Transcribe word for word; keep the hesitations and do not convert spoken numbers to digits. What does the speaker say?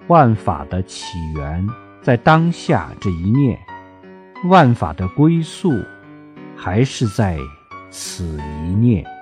万法的起源在当下这一念，万法的归宿还是在此一念。